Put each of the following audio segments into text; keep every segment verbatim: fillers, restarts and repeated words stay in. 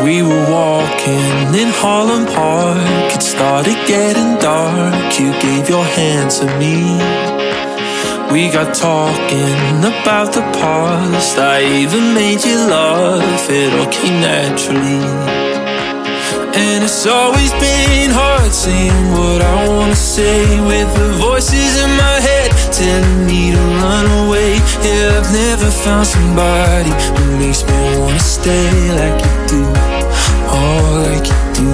We were walking in Harlem Park. It started getting dark. You gave your hand to me. We got talking about the past. I even made you laugh. It all came naturally. And it's always been hard saying what I wanna say, with the voices in my head telling me to run away. Yeah, I've never found somebody who makes me wanna stay like you do, oh, like you do.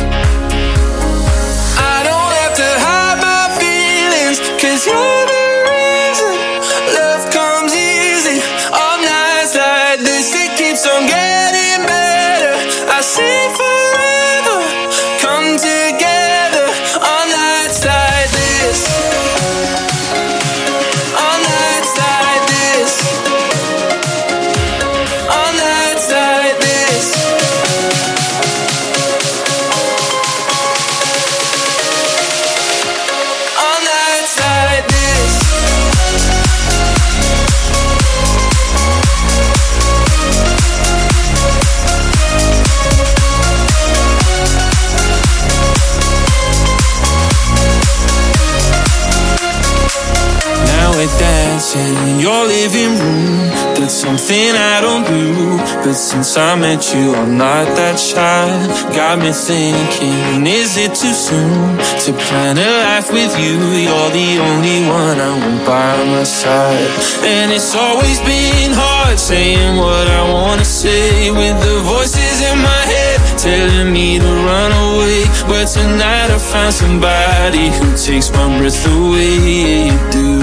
I don't have to hide my feelings, 'cause you're the reason love comes easy. On nights like this, it keeps on getting better. I see forever come together on nights like this. On nights like this. On nights like this. On nights like this. Now we're dancing in your living room. That's something I don't do, but since I met you, I'm not that shy. Got me thinking, is it too soon to plan a life with you? You're the only one I want by my side. And it's always been hard saying what I wanna say, with the voices in my head telling me to run away. But tonight I found somebody who takes my breath away. Yeah, you do.